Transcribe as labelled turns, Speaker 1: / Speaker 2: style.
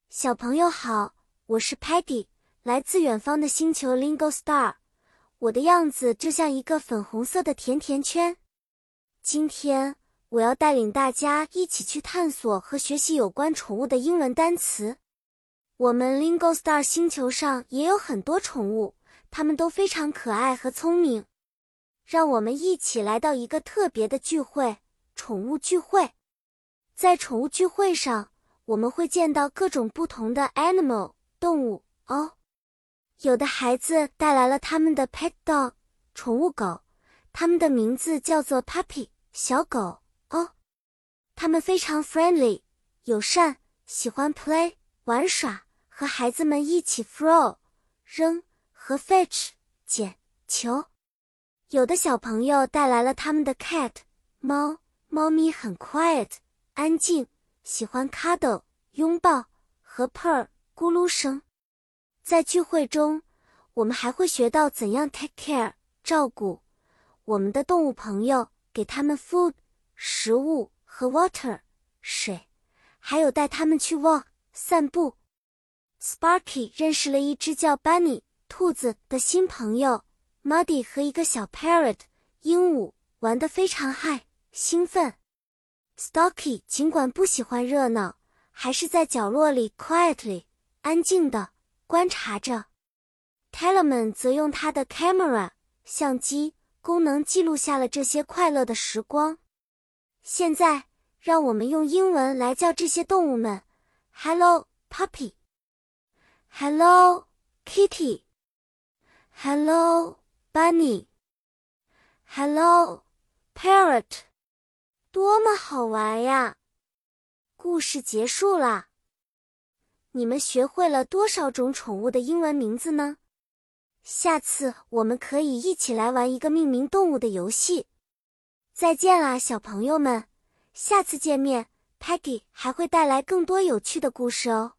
Speaker 1: 小朋友好，我是 Patty， 来自远方的星球 Lingo Star。我的样子就像一个粉红色的甜甜圈。今天我要带领大家一起去探索和学习有关宠物的英文单词。我们 Lingo Star 星球上也有很多宠物，它们都非常可爱和聪明。让我们一起来到一个特别的聚会——宠物聚会。在宠物聚会上，我们会见到各种不同的 animal 动物哦。有的孩子带来了他们的 pet dog 宠物狗，它们的名字叫做 puppy 小狗哦。它们非常 friendly 友善，喜欢 play 玩耍，和孩子们一起 throw 扔和 fetch 捡球。有的小朋友带来了他们的 cat 猫，猫咪很 quiet 安静，喜欢 cuddle 拥抱和 purr 咕噜声。在聚会中，我们还会学到怎样 take care 照顾我们的动物朋友，给他们 food 食物和 water 水，还有带他们去 walk 散步。Sparky 认识了一只叫 Bunny 兔子的新朋友 Muddy 和一个小 parrot 鹦鹉，玩得非常嗨兴奋。Stocky 尽管不喜欢热闹，还是在角落里 quietly 安静地观察着。Talman 则用他的 camera 相机功能记录下了这些快乐的时光。现在，让我们用英文来叫这些动物们 Hello Puppy Hello Kitty Hello Bunny Hello Parrot 多么好玩呀！故事结束啦。你们学会了多少种宠物的英文名字呢？下次我们可以一起来玩一个命名动物的游戏。再见啦，小朋友们，下次见面，Peggy 还会带来更多有趣的故事哦。